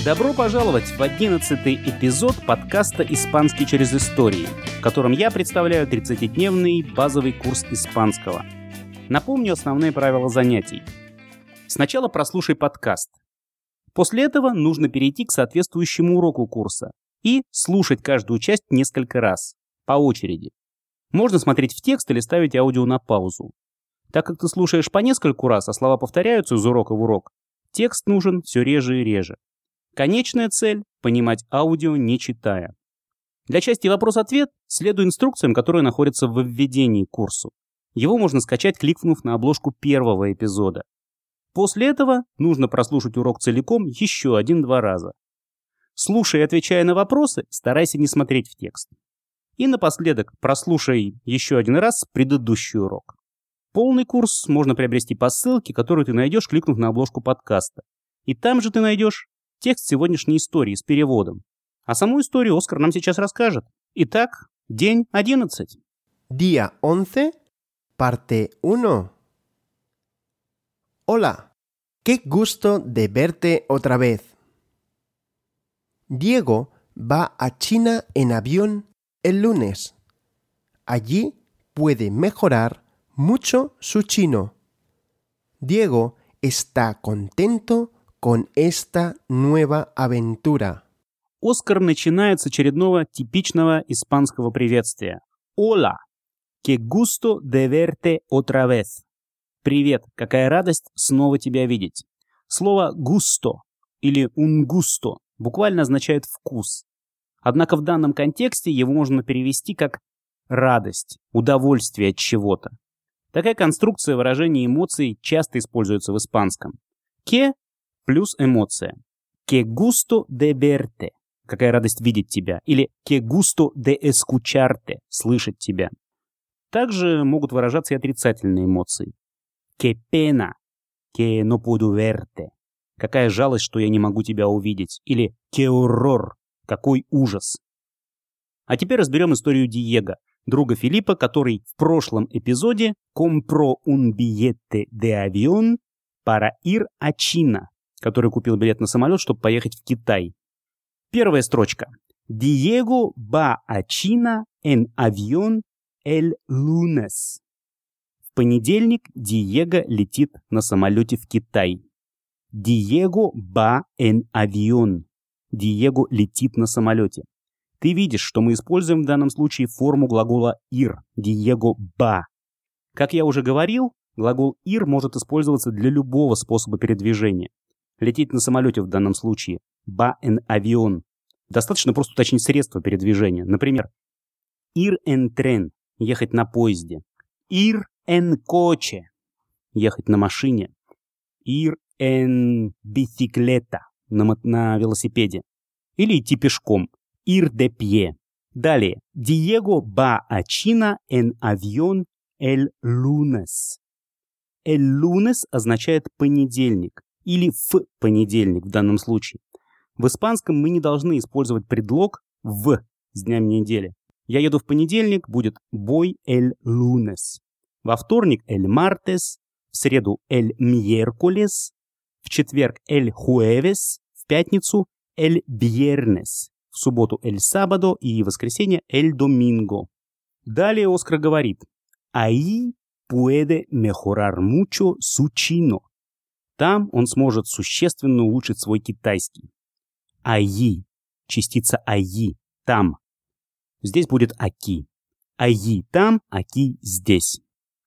Добро пожаловать в 11-й эпизод подкаста «Испанский через истории», в котором я представляю 30-дневный базовый курс испанского. Напомню основные правила занятий. Сначала прослушай подкаст. После этого нужно перейти к соответствующему уроку курса и слушать каждую часть несколько раз, по очереди. Можно смотреть в текст или ставить аудио на паузу. Так как ты слушаешь по нескольку раз, а слова повторяются из урока в урок, текст нужен все реже и реже. Конечная цель – понимать аудио, не читая. Для части вопрос-ответ следуй инструкциям, которые находятся в введении к курсу. Его можно скачать, кликнув на обложку первого эпизода. После этого нужно прослушать урок целиком еще 1-2 раза. Слушая и отвечая на вопросы, старайся не смотреть в текст. И напоследок прослушай еще 1 раз предыдущий урок. Полный курс можно приобрести по ссылке, которую ты найдешь, кликнув на обложку подкаста. И там же ты найдешь текст сегодняшней истории с переводом. А саму историю Оскар нам сейчас расскажет. Итак, день 11. Día 11, parte 1. Hola, qué gusto de verte otra vez. Diego va a China en avión el lunes. Allí puede mejorar mucho su chino. Diego está contento con esta nueva aventura. Оскар начинает с очередного типичного испанского приветствия. Hola, qué gusto de verte otra vez. Привет, какая радость снова тебя видеть. Слово gusto или un gusto буквально означает вкус. Однако в данном контексте его можно перевести как радость, удовольствие от чего-то. Такая конструкция выражения эмоций часто используется в испанском. Que плюс эмоция. Que gusto de verte. Какая радость видеть тебя. Или que gusto de escucharte. Слышать тебя. Также могут выражаться и отрицательные эмоции. Que pena. Que no puedo verte. Какая жалость, что я не могу тебя увидеть. Или que horror. Какой ужас. А теперь разберем историю Диего, друга Филиппа, который в прошлом эпизоде compró un billete de avión para ir a China, который купил билет на самолет, чтобы поехать в Китай. Первая строчка. Diego va a China en avión el lunes. В понедельник Диего летит на самолете в Китай. Diego va en avión. Диего летит на самолете. Ты видишь, что мы используем в данном случае форму глагола ir. Diego va. Как я уже говорил, глагол ir может использоваться для любого способа передвижения. Лететь на самолете в данном случае. Va en avión. Достаточно просто уточнить средства передвижения. Например, ir en tren. Ехать на поезде. Ir en coche. Ехать на машине. Ir en bicicleta. На велосипеде. Или идти пешком. Ir de pie. Далее. Diego va a China en avión el lunes. El lunes означает понедельник. Или в понедельник в данном случае. В испанском мы не должны использовать предлог в с днями недели. Я еду в понедельник, будет voy el lunes. Во вторник el martes, в среду el miércoles, в четверг el jueves, в пятницу el viernes, в субботу el sábado и в воскресенье el domingo. Далее Оскар говорит: ahí puede mejorar mucho su chino. Там он сможет существенно улучшить свой китайский. Allí, частица allí, там. Здесь будет aquí. Allí там, aquí здесь.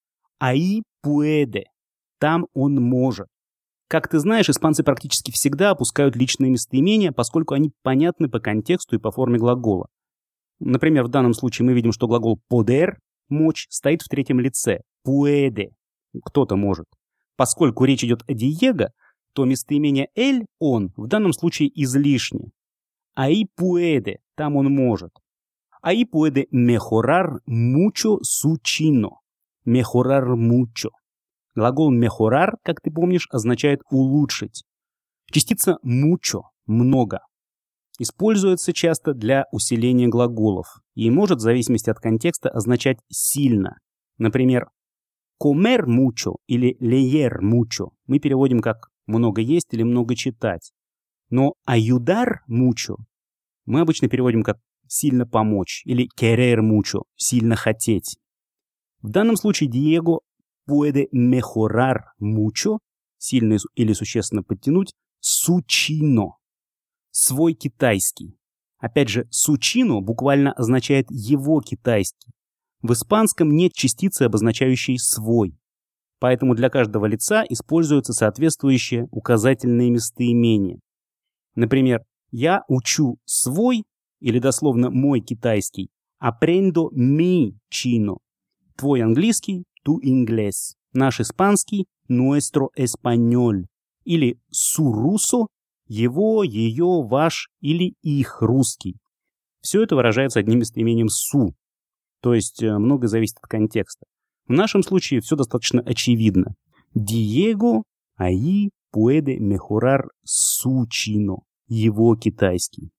Ahí puede, там он может. Как ты знаешь, испанцы практически всегда опускают личные местоимения, поскольку они понятны по контексту и по форме глагола. Например, в данном случае мы видим, что глагол poder, мочь, стоит в третьем лице. Puede, кто-то может. Поскольку речь идет о Диего, то местоимение el, он, в данном случае излишне. Ahí puede, там он может. Ahí puede mejorar mucho su chino. Mejorar mucho. Глагол mejorar, как ты помнишь, означает улучшить. Частица mucho, много, используется часто для усиления глаголов и может в зависимости от контекста означать сильно. Например, comer mucho или leer mucho мы переводим как много есть или много читать. Но ayudar mucho мы обычно переводим как «сильно помочь» или querer mucho – «сильно хотеть». В данном случае Диего puede mejorar mucho – сильно или существенно подтянуть su chino – свой китайский. Опять же, su chino буквально означает «его китайский». В испанском нет частицы, обозначающей «свой». Поэтому для каждого лица используются соответствующие указательные местоимения. Например, я учу свой, или дословно мой китайский, aprendo mi chino. Твой английский, tu inglés. Наш испанский, nuestro español. Или su ruso, его, ее, ваш или их русский. Все это выражается одним местоимением su. То есть многое зависит от контекста. В нашем случае все достаточно очевидно. Diego ahí puede mejorar su chino. Его китайский.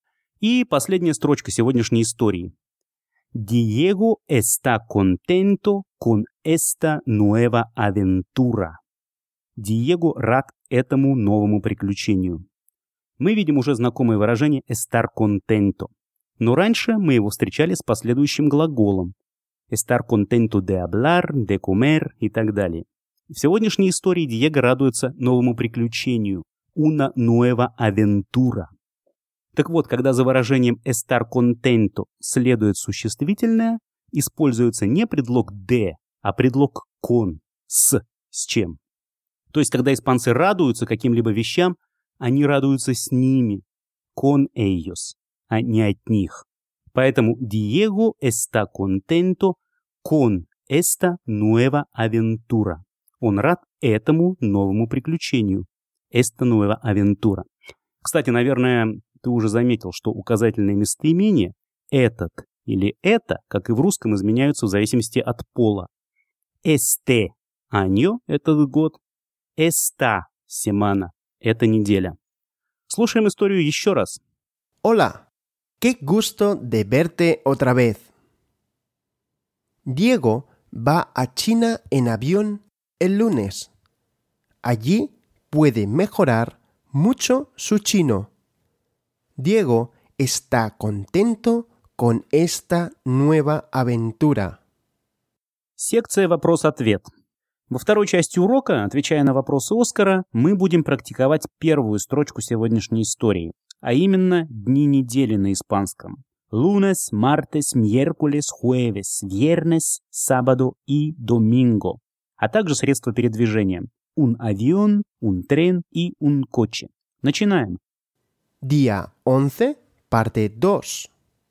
И последняя строчка сегодняшней истории. Diego está contento con esta nueva aventura. Диего рад этому новому приключению. Мы видим уже знакомое выражение estar contento. Но раньше мы его встречали с последующим глаголом. Estar contento de hablar, de comer и так далее. В сегодняшней истории Диего радуется новому приключению. Una nueva aventura. Так вот, когда за выражением estar contento следует существительное, используется не предлог de, а предлог con, с чем. То есть, когда испанцы радуются каким-либо вещам, они радуются с ними, con ellos, а не от них. Поэтому Diego está contento con esta nueva aventura. Он рад этому новому приключению. Esta nueva aventura. Кстати, наверное, ты уже заметил, что указательные местоимения «этот» или «это», как и в русском, изменяются в зависимости от пола. Este año – этот год. Esta semana – это неделя. Слушаем историю еще раз. Hola, qué gusto de verte otra vez. Diego va a China en avión el lunes. Allí puede mejorar mucho su chino. Diego está contento con esta nueva aventura. Секция «Вопрос-ответ». Во второй части урока, отвечая на вопросы Оскара, мы будем практиковать первую строчку сегодняшней истории, а именно дни недели на испанском. Lunes, martes, miércoles, jueves, viernes, sábado y domingo, а также средства передвижения. Un avión, un tren y un coche. Начинаем. Día 11, parte 2.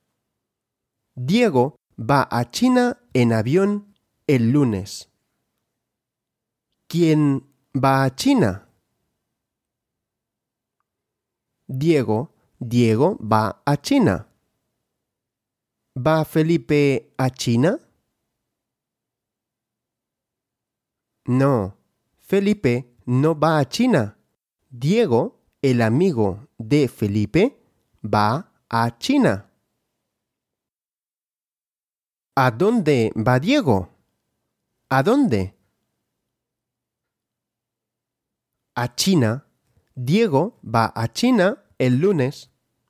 Diego va a China en avión el lunes. ¿Quién va a China? Diego va a China. ¿Va Felipe a China? No, Felipe no va a China. Diego, el amigo de Felipe, va a China. ¿A dónde va Diego? ¿A dónde? A China. Diego va a China el lunes.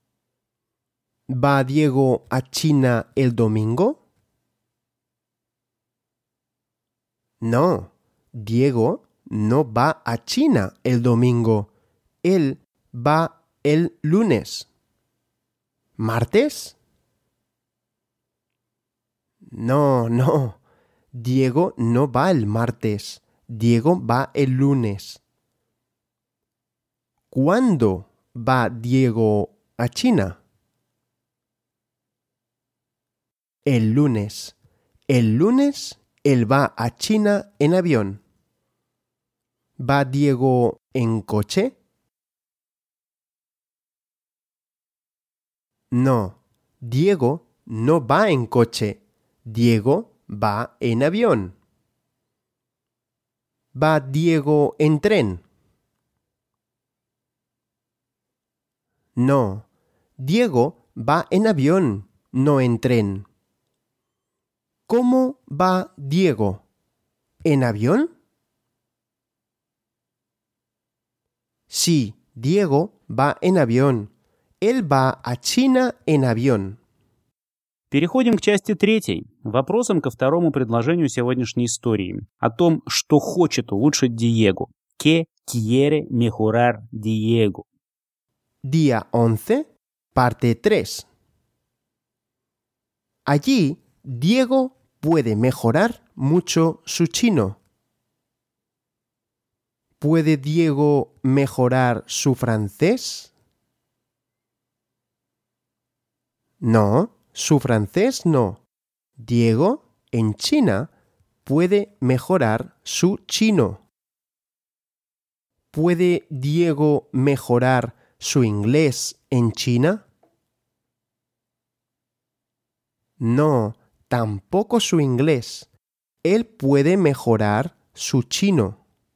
¿Va Diego a China el domingo? No, Diego no va a China el domingo. Él va el lunes. ¿Martes? No. Diego no va el martes. Diego va el lunes. ¿Cuándo va Diego a China? El lunes. El lunes él va a China en avión. ¿Va Diego en coche? No, Diego no va en coche. Diego va en avión. ¿Va Diego en tren? No, Diego va en avión, no en tren. ¿Cómo va Diego? ¿En avión? Sí, Diego va en avión. Él va a China en avión. Переходим к части 3, вопросам ко второму предложению сегодняшней истории, о том, что хочет улучшить Диего. ¿Qué quiere mejorar Diego? Día 11, parte 3. Allí, Diego puede mejorar mucho su chino. ¿Puede Diego mejorar su francés? No, su francés no. Diego, en China, puede mejorar su chino. ¿Puede Diego mejorar su inglés en China? No, tampoco su inglés. Él puede mejorar su chino.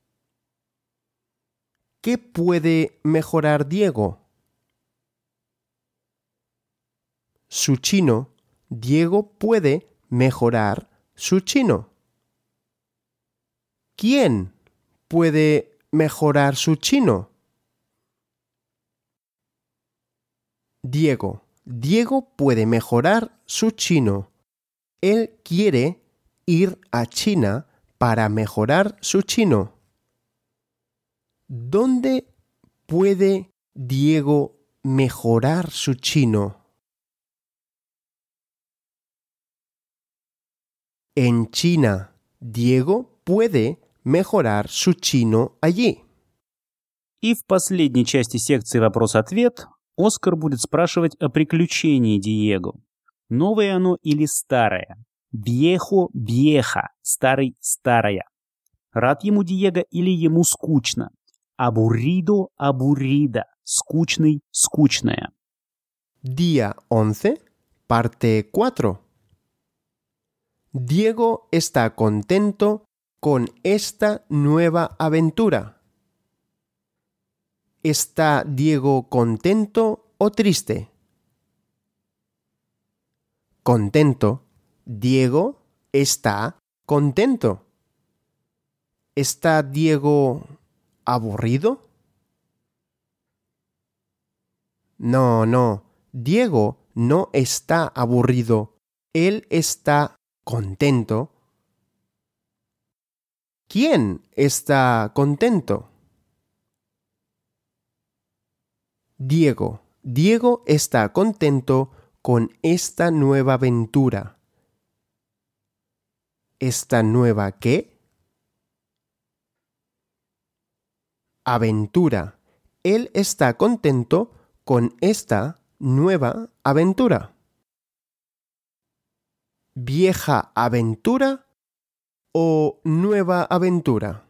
¿Qué puede mejorar Diego? Su chino. Diego puede mejorar su chino. ¿Quién puede mejorar su chino? Diego. Diego puede mejorar su chino. Él quiere ir a China para mejorar su chino. ¿Dónde puede Diego mejorar su chino? En China. Diego puede mejorar su chino allí. И в последней части секции «Вопрос-ответ» Оскар будет спрашивать о приключении Диего. Новое оно или старое? Viejo, vieja, старый, старая. Рад ему Диего или ему скучно? Aburrido, aburrida, скучный, скучная. Día 11, parte 4. Diego está contento con esta nueva aventura. ¿Está Diego contento o triste? Contento. Diego está contento. ¿Está Diego aburrido? No. Diego no está aburrido. Él está contento. ¿Quién está contento? Diego. Diego está contento con esta nueva aventura. ¿Esta nueva qué? Aventura. Él está contento con esta nueva aventura. ¿Vieja aventura o nueva aventura?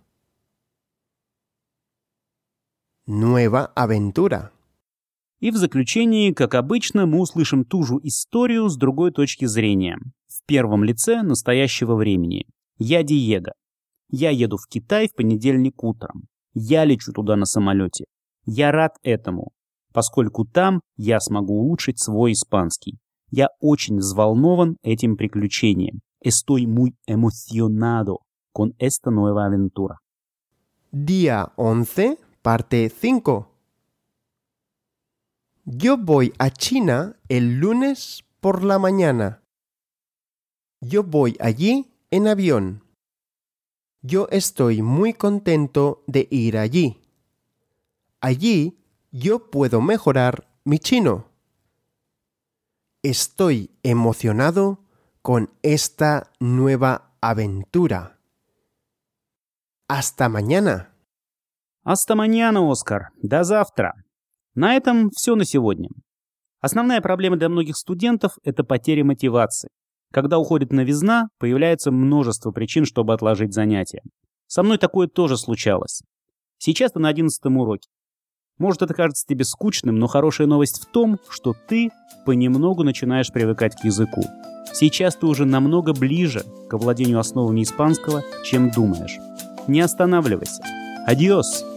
Nueva aventura. И в заключении, как обычно, мы услышим ту же историю с другой точки зрения. В первом лице настоящего времени. Я Диего. Я еду в Китай в понедельник утром. Я лечу туда на самолете. Я рад этому, поскольку там я смогу улучшить свой испанский. Я очень взволнован этим приключением. Estoy muy emocionado con esta nueva aventura. Día 11, parte 5. Yo voy a China el lunes por la mañana. Yo voy allí en avión. Yo estoy muy contento de ir allí. Allí yo puedo mejorar mi chino. Estoy emocionado con esta nueva aventura. Hasta mañana. Hasta mañana, Оскар. До завтра. На этом все на сегодня. Основная проблема для многих студентов – это потеря мотивации. Когда уходит новизна, появляется множество причин, чтобы отложить занятия. Со мной такое тоже случалось. Сейчас ты на 11-м уроке. Может, это кажется тебе скучным, но хорошая новость в том, что ты понемногу начинаешь привыкать к языку. Сейчас ты уже намного ближе к овладению основами испанского, чем думаешь. Не останавливайся. Адиос!